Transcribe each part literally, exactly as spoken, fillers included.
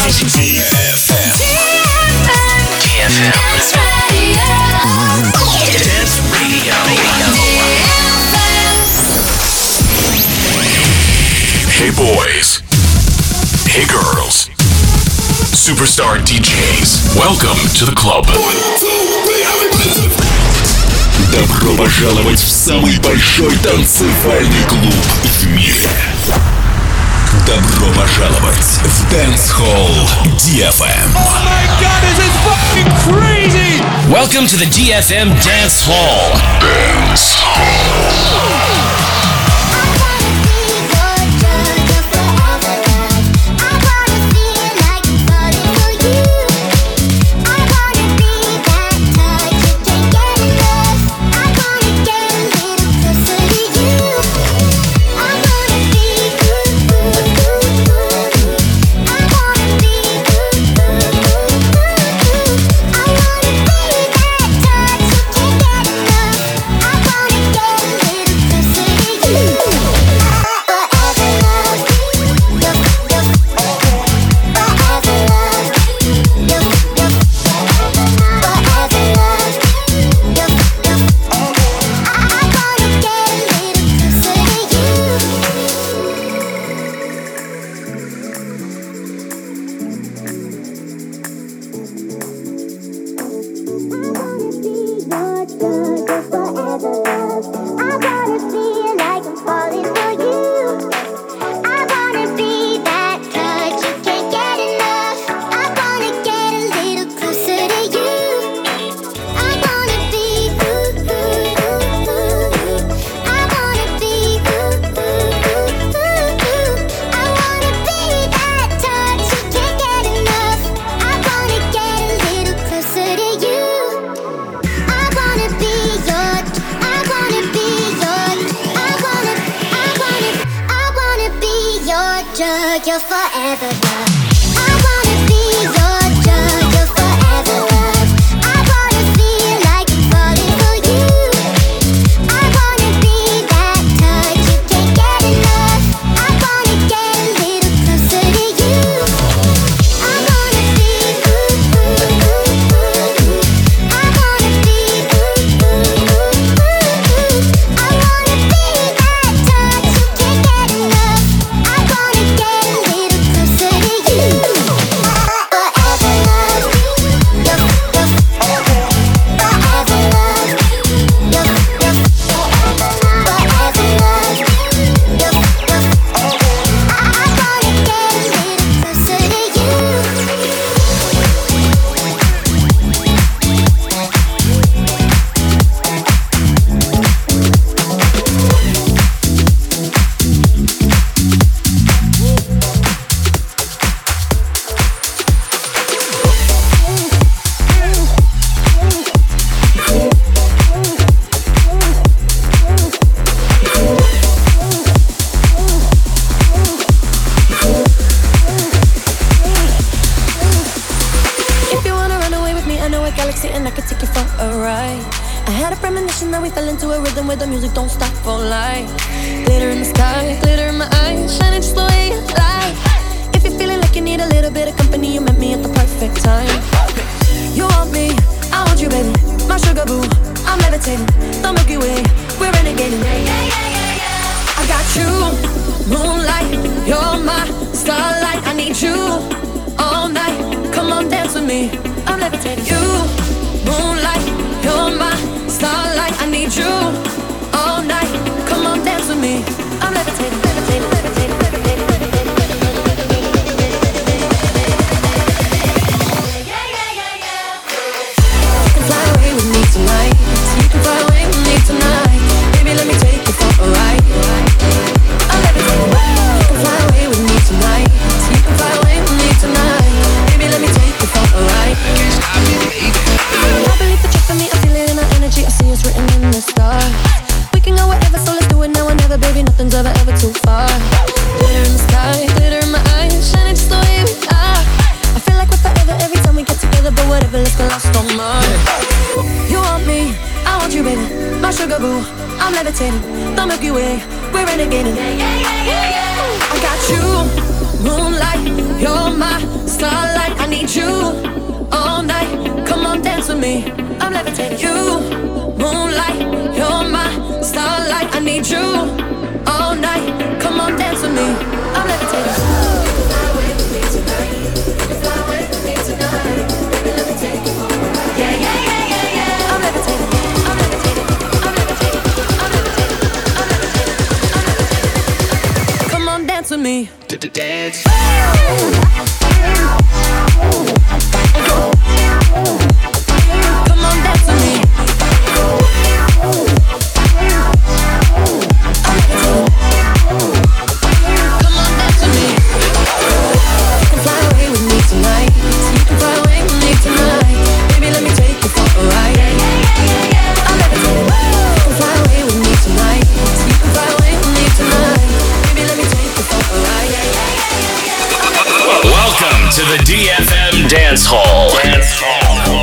ди эф эм. ди эф эм. Dance Radio. Dance Radio. Hey boys. Hey girls. Superstar ди джейс. Welcome to the club. Добро пожаловать в самый большой танцевальный клуб в мире. Добро пожаловать в Dance Hall ди эф эм. Oh my god, this is fucking crazy! Welcome to the ди эф эм Dance Hall. Dance Hall. You're forever love. I wanna be your drug. You're forever love. I wanna feel like I'm falling for you. I wanna be that touch you can't get enough. I wanna get a little closer to you. I wanna be ooh, ooh, ooh, ooh. I wanna be ooh, ooh, ooh, ooh. I wanna be that touch you can't get enough. I wanna get a little closer to you. Forever love. You're, you're forever love. You're, you're forever love. You're, you're I wanna get a little closer to you. If you wanna run away with me, I know a galaxy and I can take you for a ride. I had a premonition that we fell into a rhythm where the music don't stop for life. Glitter in the sky, glitter in my eyes, shining just the way you like. If you're feeling like you need a little bit of company, you met me at the perfect time. You want me, I want you, baby. My sugar boo, I'm levitating. The Milky Way, we're renegading. I got you, moonlight, you're my starlight. I need you all night. Come on, dance with me. I'm levitating. You, moonlight, you're my starlight. I need you all night. Come on, dance with me. I'm levitating, levitating, levitating, levitating, levitating. You can fly away with me tonight. You can fly away with me tonight. Baby, let me take you for a ride. I'm levitating. You can fly away with me tonight. You can fly away with me tonight. Baby, let me take you for a ride. I believe that you're for me. I feel it in our energy. I see it's written in the stars. We can go wherever, so let's do it now or never, baby. Nothing's ever, ever too far. Glitter in the sky, glitter in my eyes, shining just the way we are. I feel like we're forever every time we get together, but whatever, let's get lost on Mars. You want me, I want you, baby. My sugar boo, I'm levitating. The Milky Way, we're renegading. I got you, moonlight, you're my starlight. I need you all night. Come on, dance with me. I'm levitating. You, moonlight, you're my starlight. I need you all night. Come on, dance with me. I'm levitating. You can fly away with me tonight. You can fly away with me tonight. Baby, let me take you for a ride. Yeah, yeah, yeah, yeah, yeah. I'm levitating. I'm levitating. I'm levitating. I'm levitating. I'm levitating. I'm levitating. Come on, dance with me. Dance. Come on, dance with me. Come on, dance with me. You can fly away with me tonight. You can fly away with me tonight. Baby, let me take you for a ride. I'm levitating. You can fly away with me tonight. You can fly away with me tonight. Baby, let me take you for a ride. Welcome to the D F M Dance Hall. Dance Hall.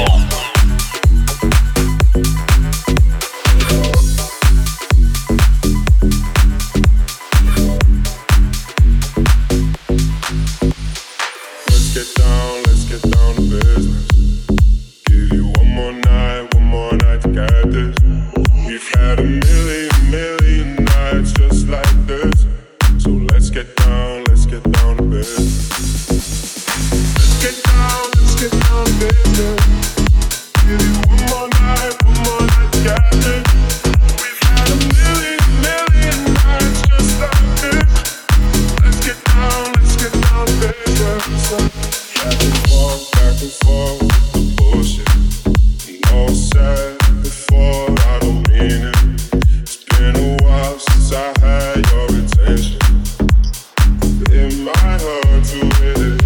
Let's get down, let's get down to business. Give you one more night, one more night to get this. We've had a million, million nights just like this. So let's get down, let's get down to business. Let's get down, let's get down to business. Give you one more night, one more night to get this. We've had a million, million nights just like this. Let's get down, let's get down to business. Back and forth, back and forth with the bullshit. You know I said before, I don't mean it. It's been a while since I had your attention. It might hurt to hit it.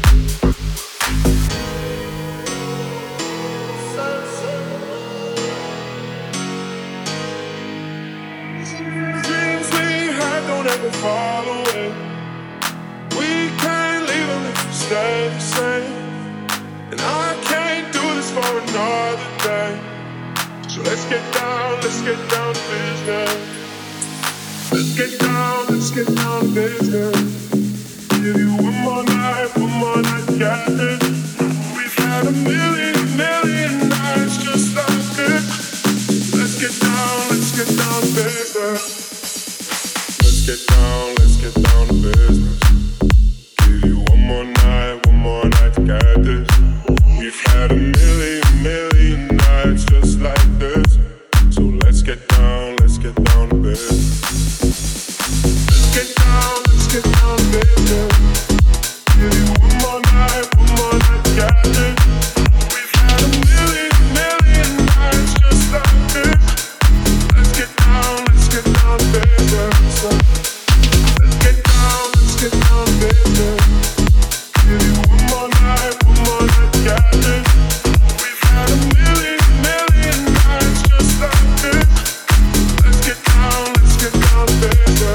Dreams we had don't ever fall away. We can't leave them if we stay the same. And I can't do this for another day. So let's get down, let's get down to business. Let's get down, let's get down to business. Give you one more night, one more night to get this. We've had a million, million nights just like this. Let's get down, let's get down to business. Let's get down, let's get down to business. Give you one more night, one more night to get this. We've had a million, million nights just like this. So let's get down, let's get down to business. Let's get down, let's get down to business. Give you one more night, one more night to get this. We've had a million, million nights just like this. Let's get down, let's get down to business. Let's get down, let's get down to business. Give you one more night, one more night to get this. We've had a million, million nights just like this. Let's get down, let's get down to business.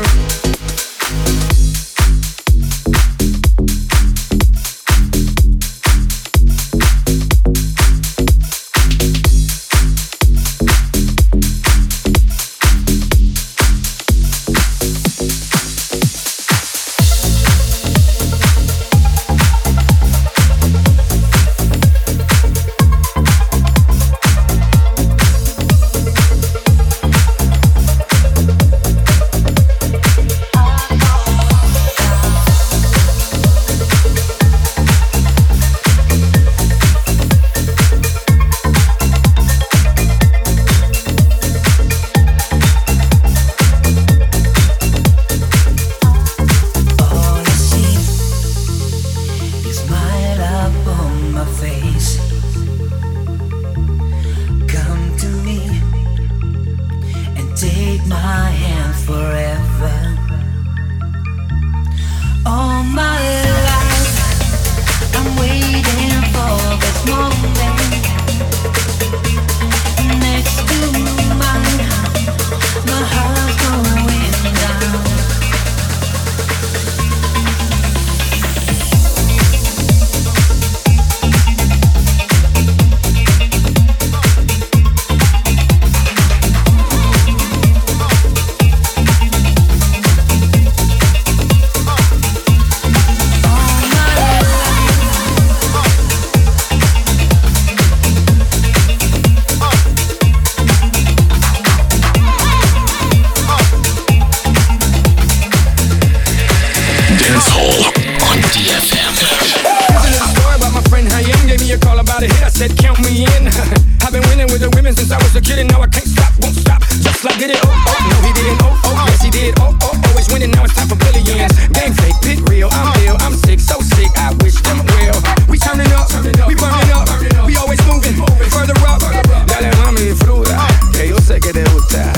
get it, oh, oh, no he didn't, oh, oh, yes he did, oh, oh, always winning, now it's time for billions. Game fake, pit real, I'm ill, I'm sick, so sick, I wish them well. We turning up, we burning up, we always moving, further up, dale mami, disfruta, que yo sé que te gusta.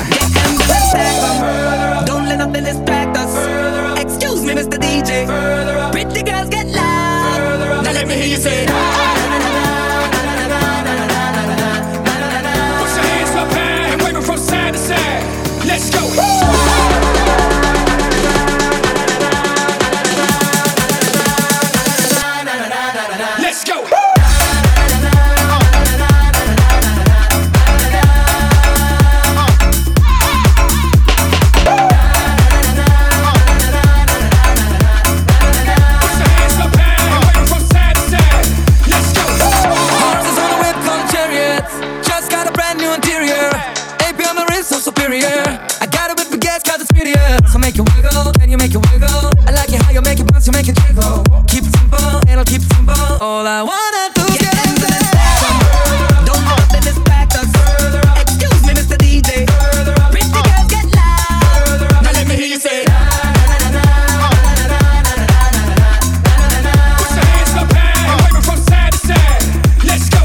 Don't let nothing distract us. Excuse me, Mister D J. Pretty girls get loud. Now let me hear you say. Put your hands up high and wave them from side to side. Let's go. Let's go. To make it jiggle, keep it simple, and I'll keep it simple. All I wanna do is get into the step. Don't let nothing distract us. Excuse me, Mister D J. Pretty girls get loud. Now let me hear you say. Put your hands up high and wave them from side to side. Let's go.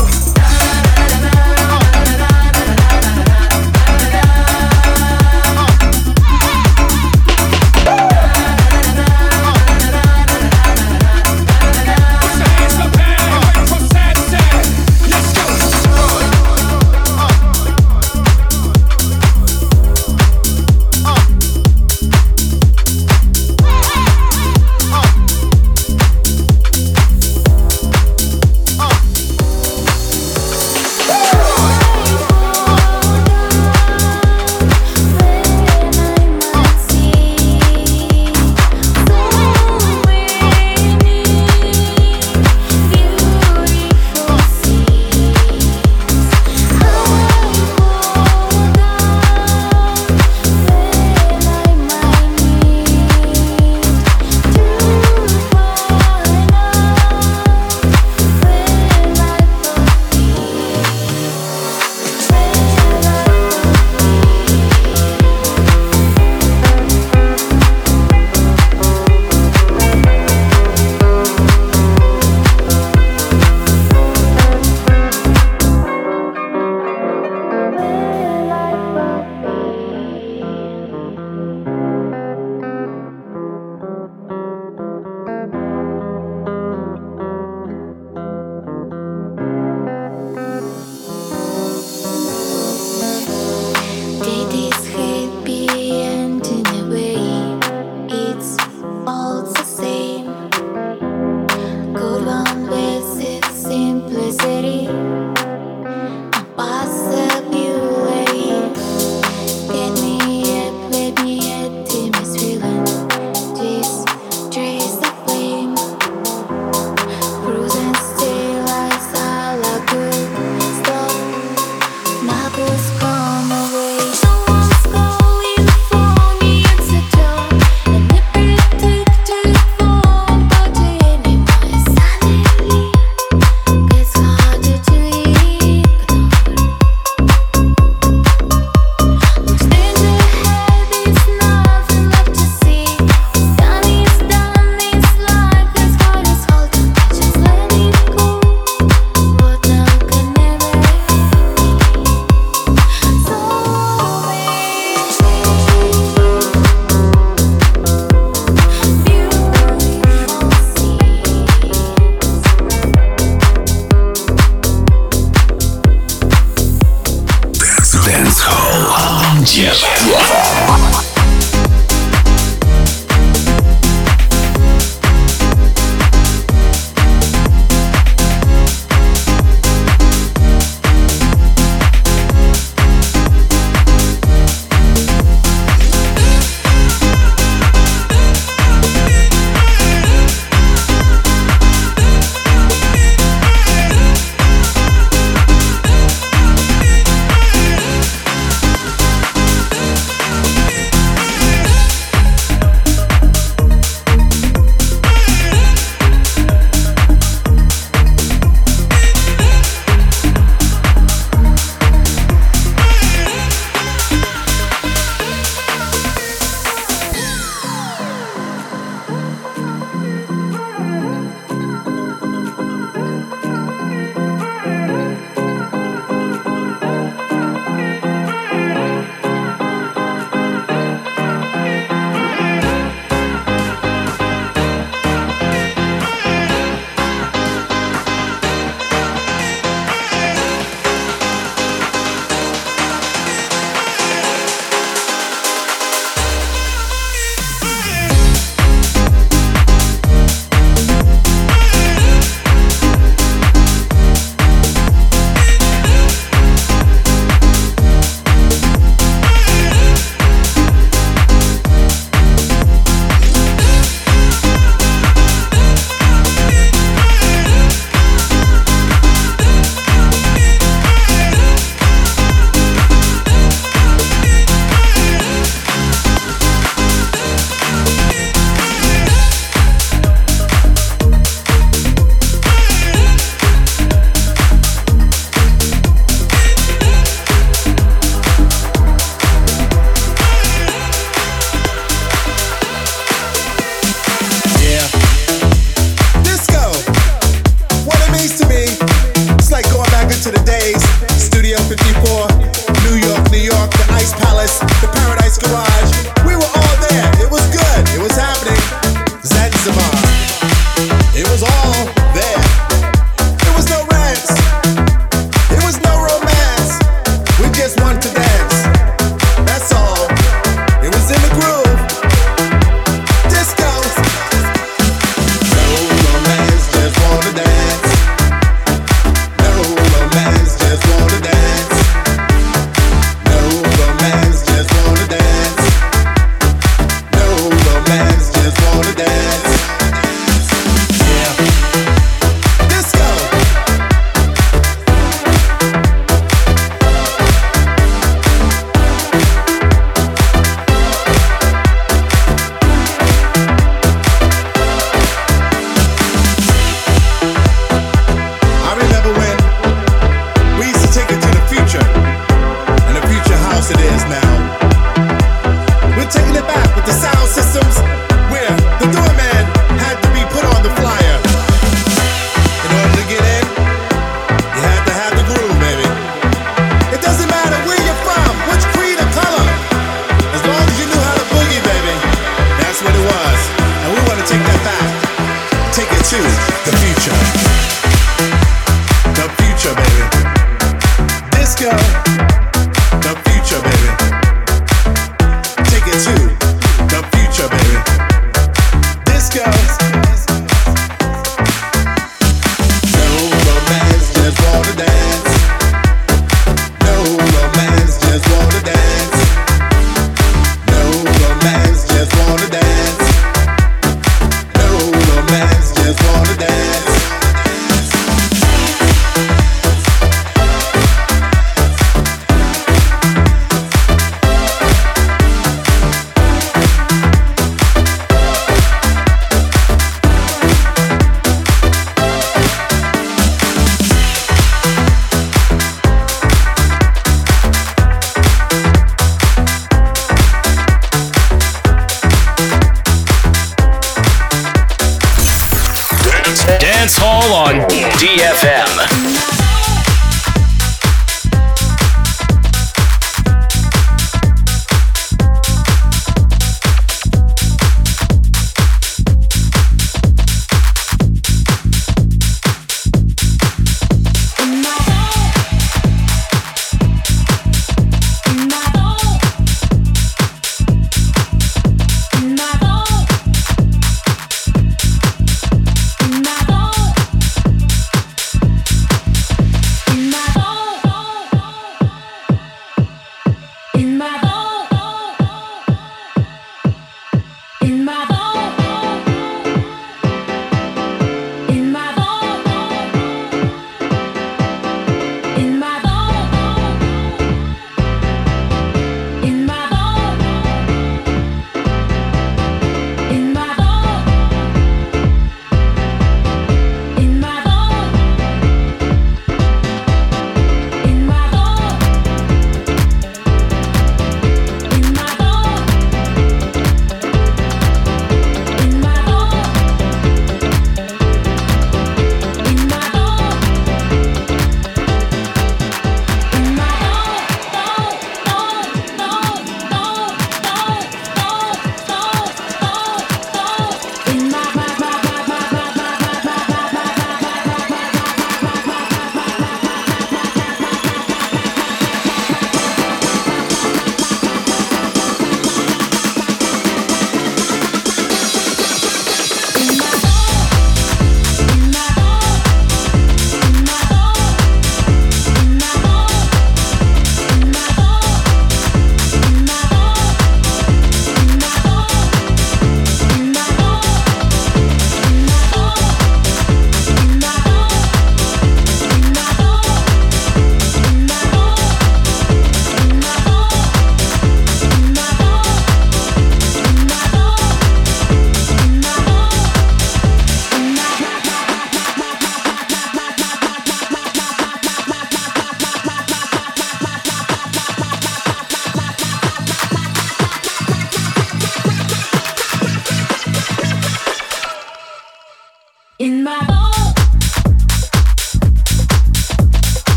Hall on D F M.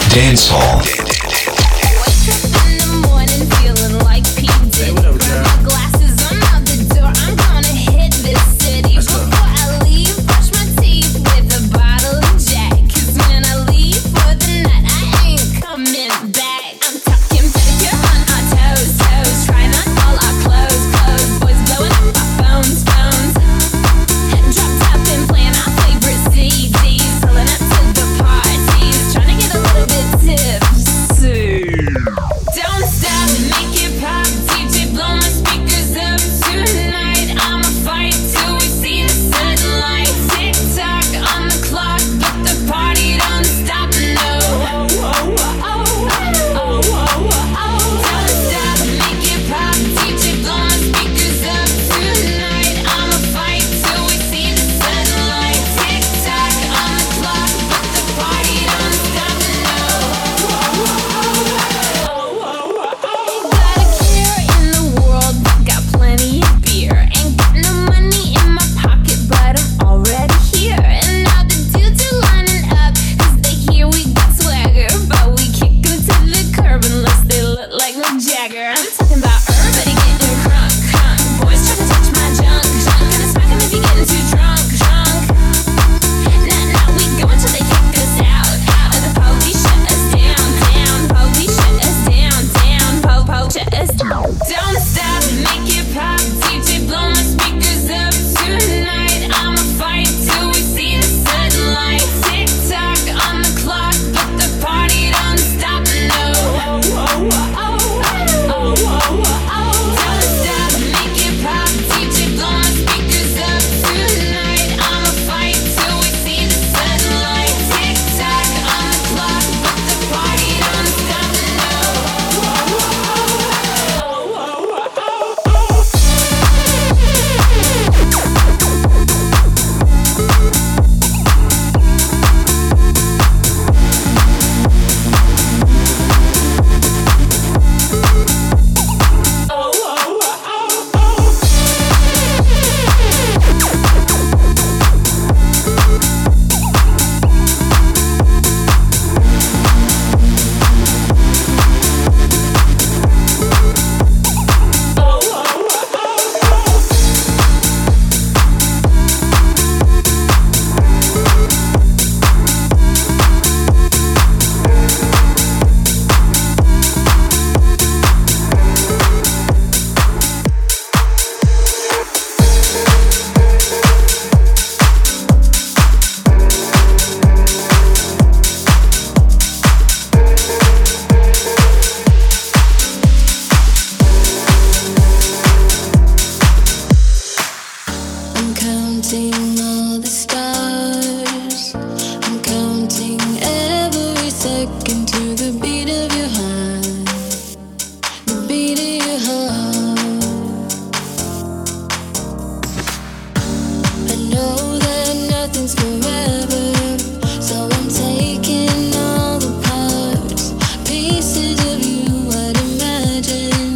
Dance Hall.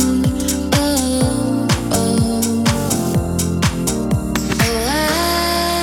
Oh,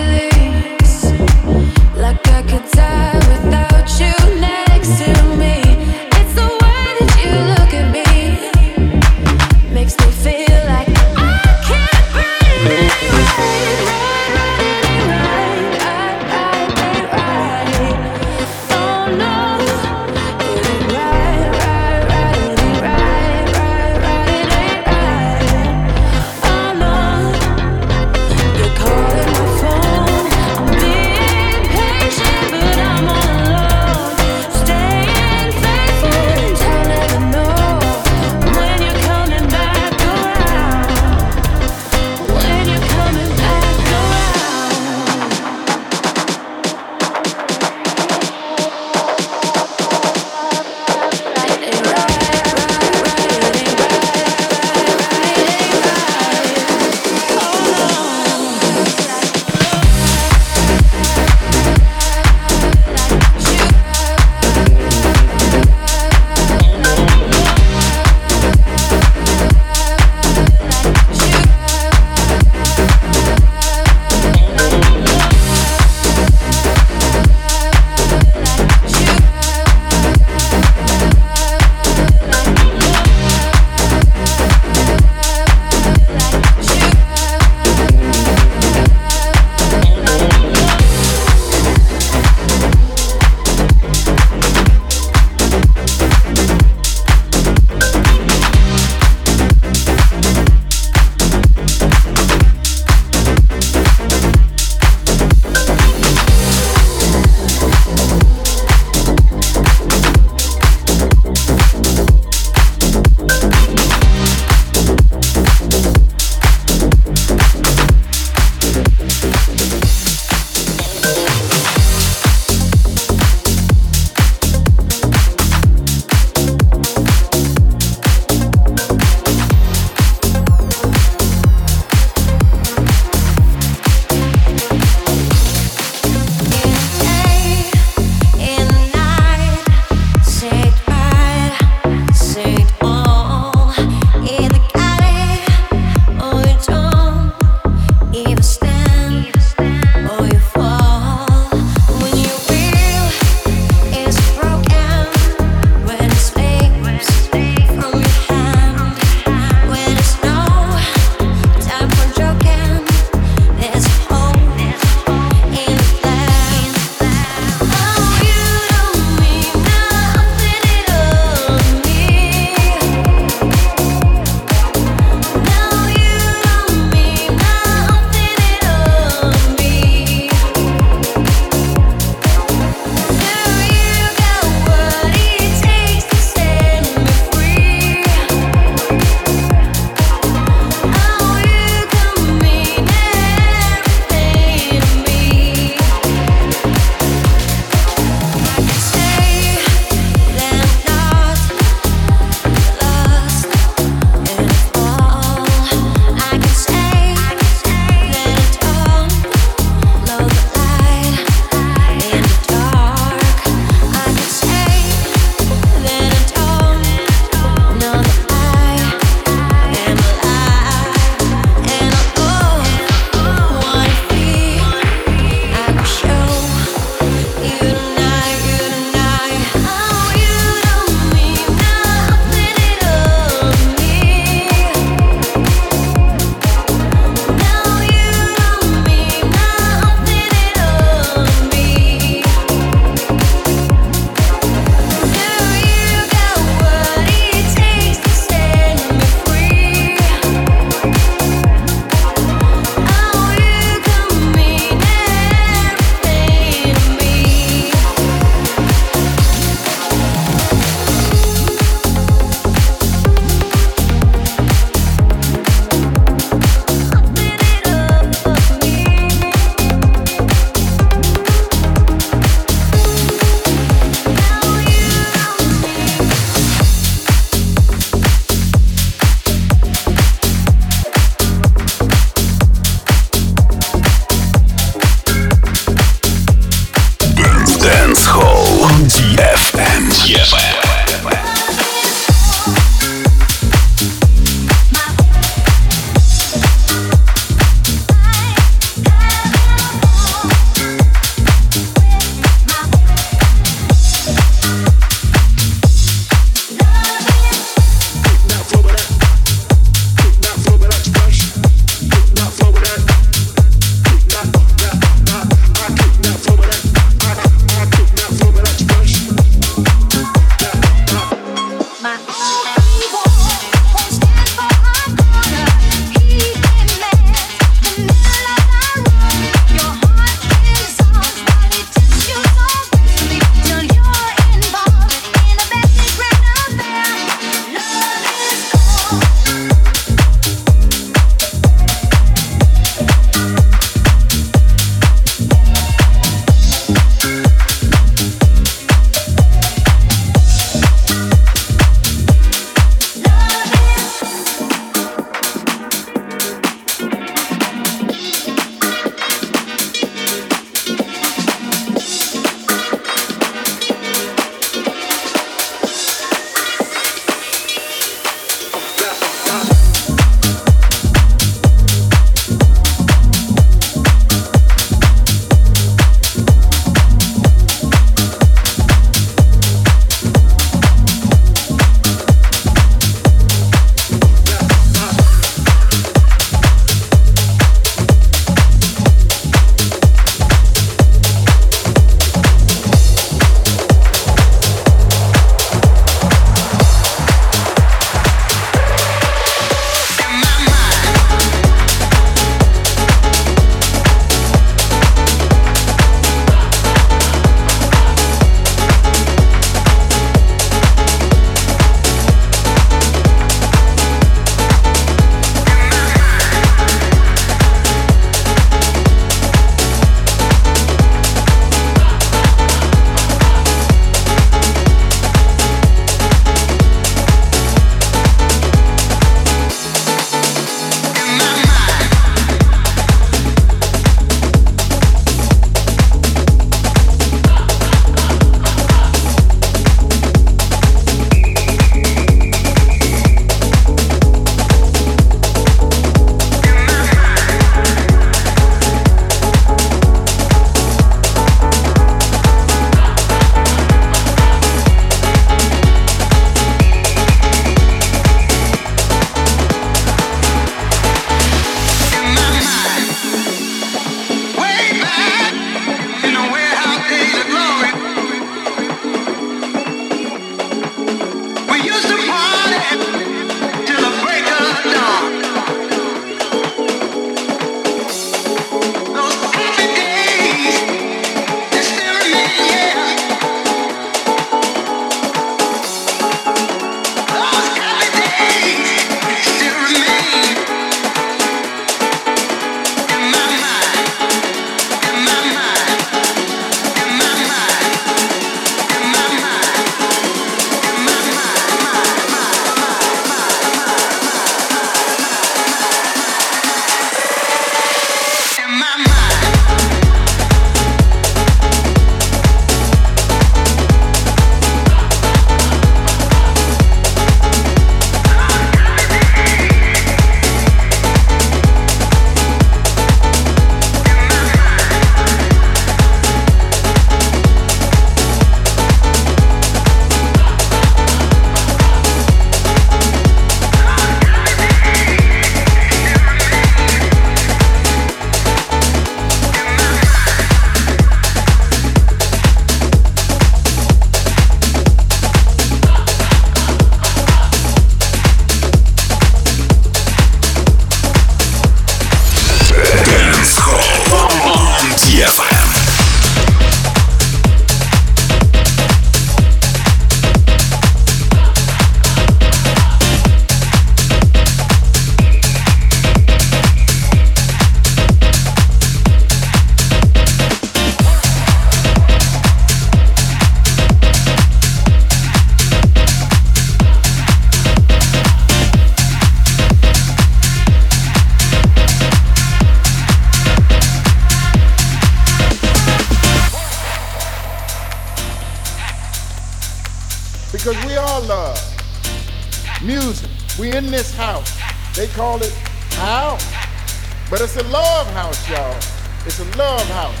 because we all love music. We in this house. They call it house, but it's a love house, y'all. It's a love house.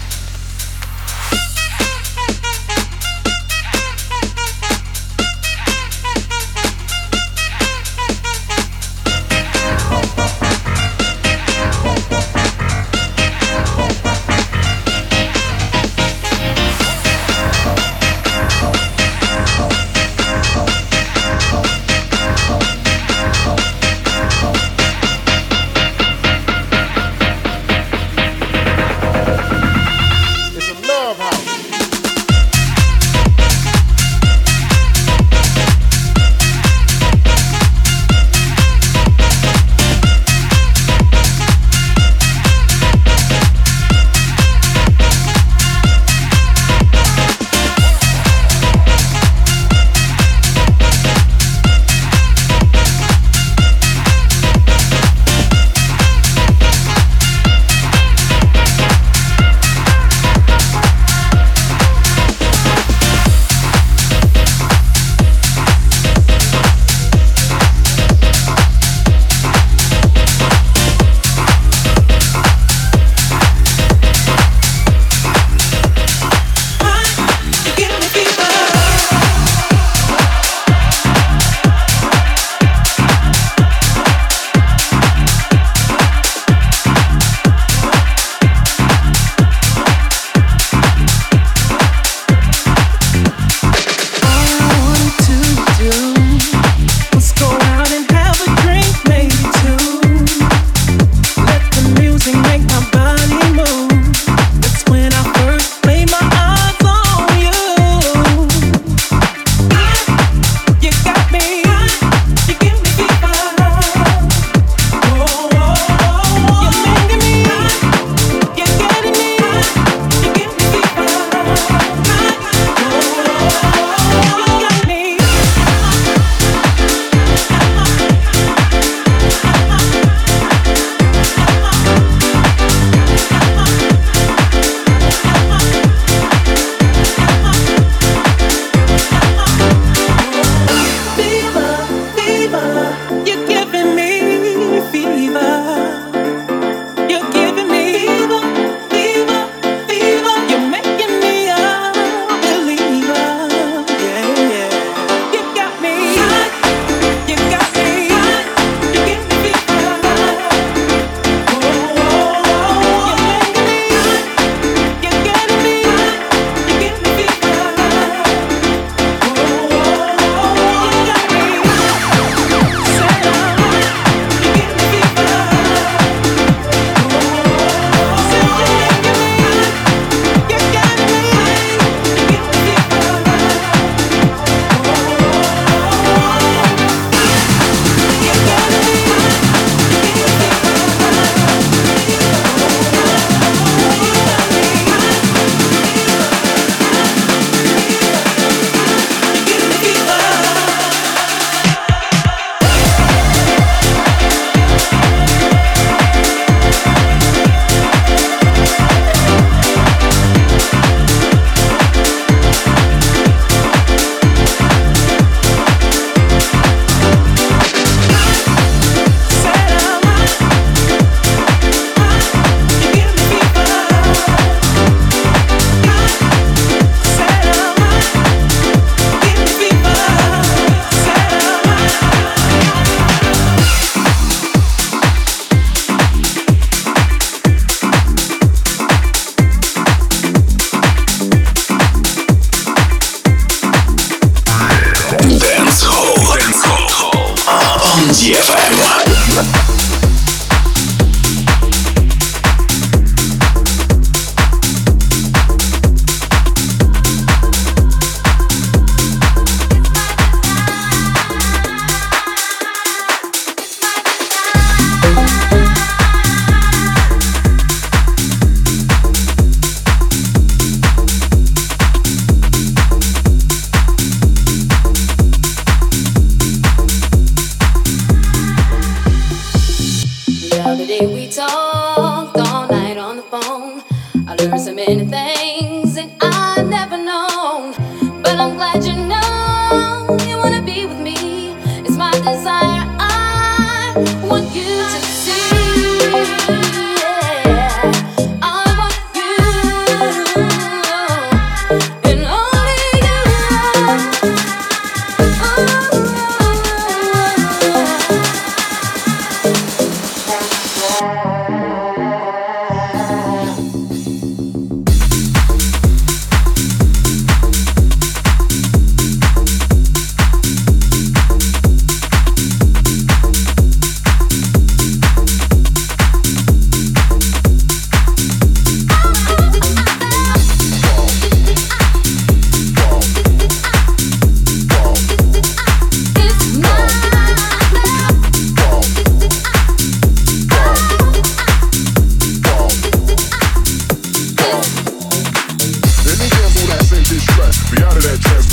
ди эф эм.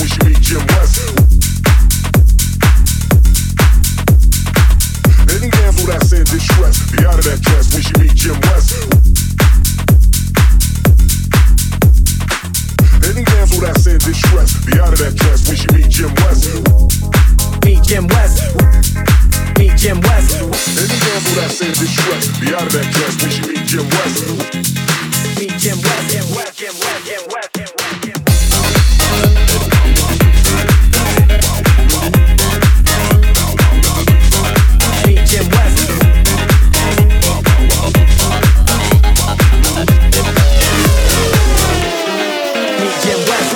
when she meet Jim West. Any damsel that's in distress, be out of that dress when she meet Jim West. Any damsel that's in distress, be out of that dress when she meet Jim West. Meet Jim West. Meet Jim West. Any damsel that's in distress, be out of that dress when she meet Jim West. Meet Jim West. Jim West. Jim West. Jim West. Jim West. Jim West. Meet Jim West. Meet Jim West.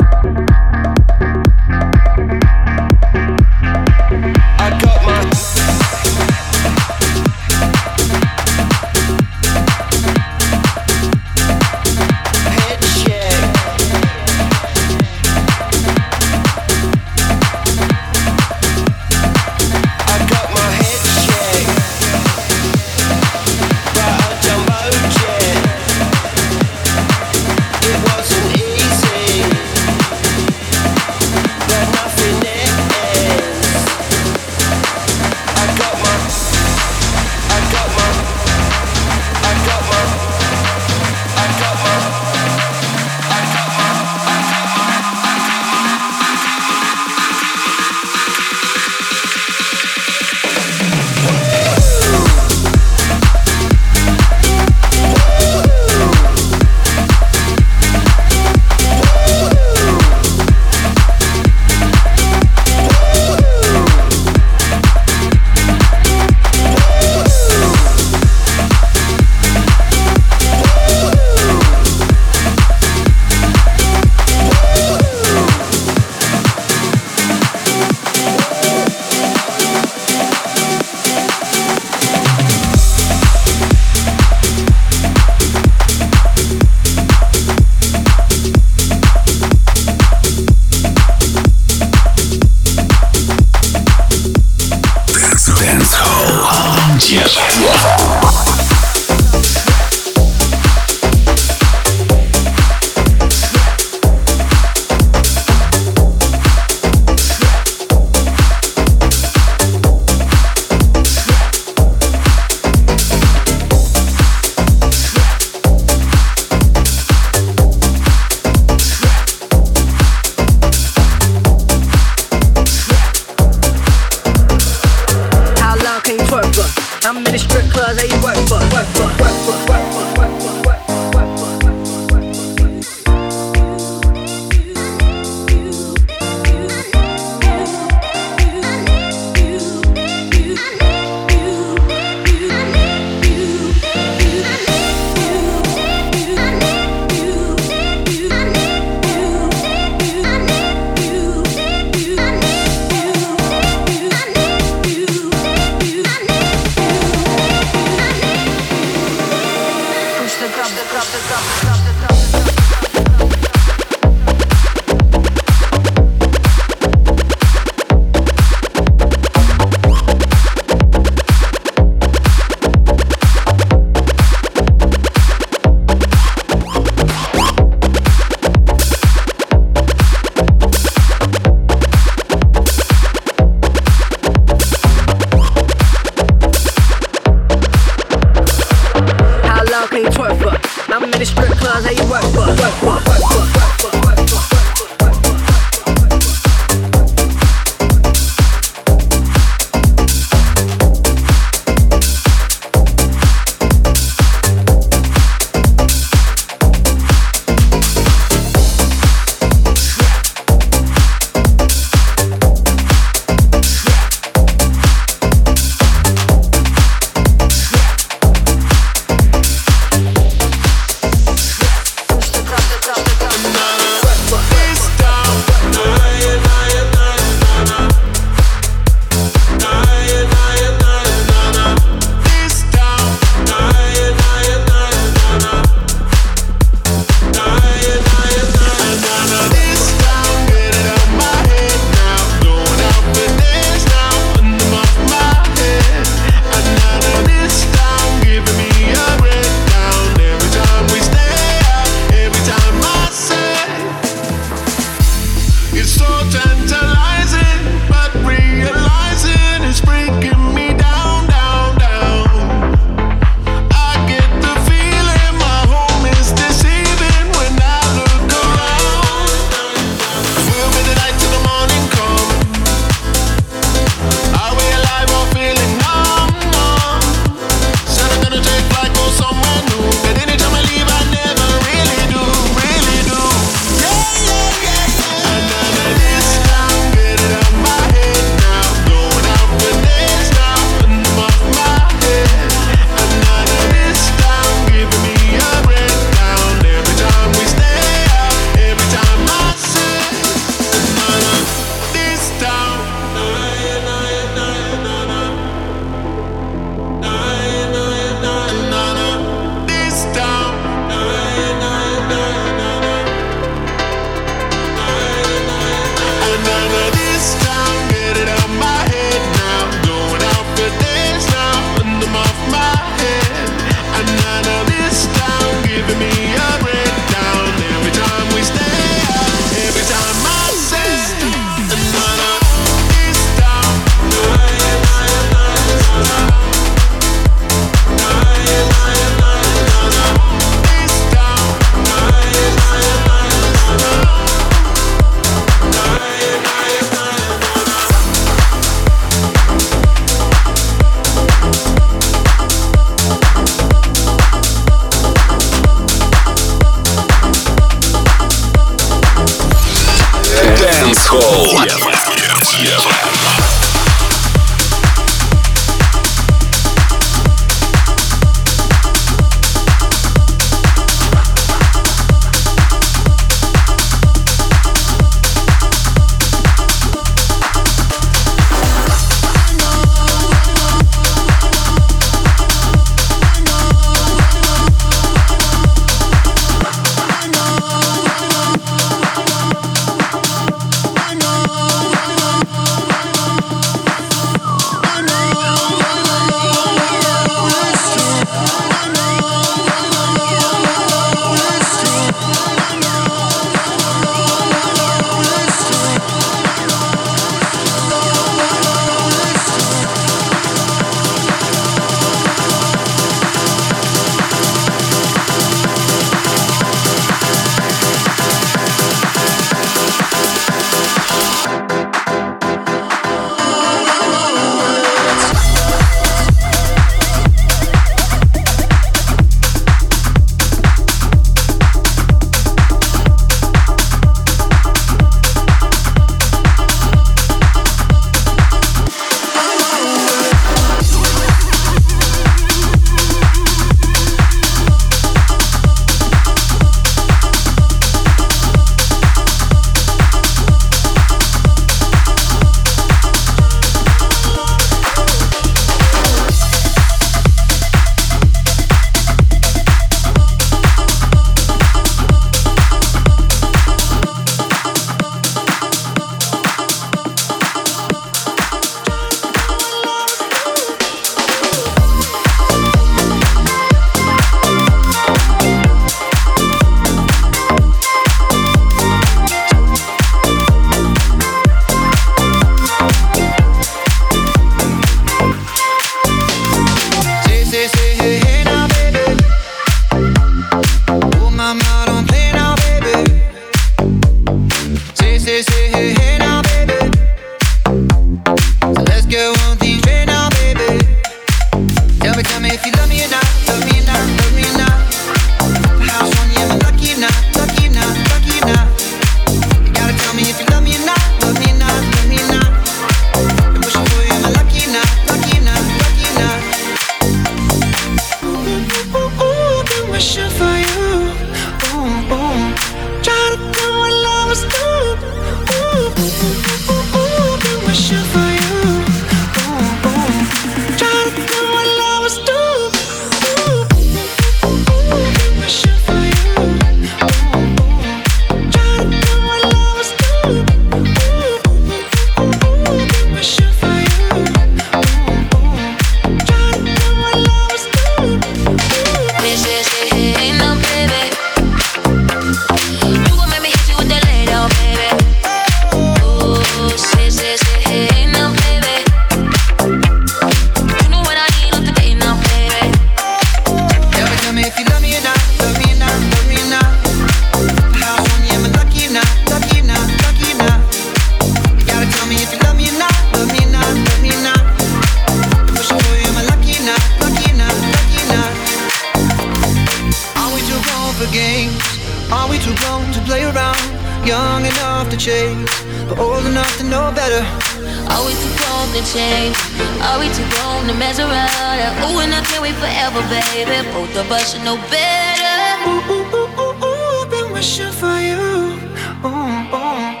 change, but old enough to know better. Are we too grown to change? Are we too grown to measure out? Ooh, and I can't wait forever, baby. Both of us should know better. Ooh, ooh, ooh, ooh, ooh, I've been wishing for you. Ooh, ooh.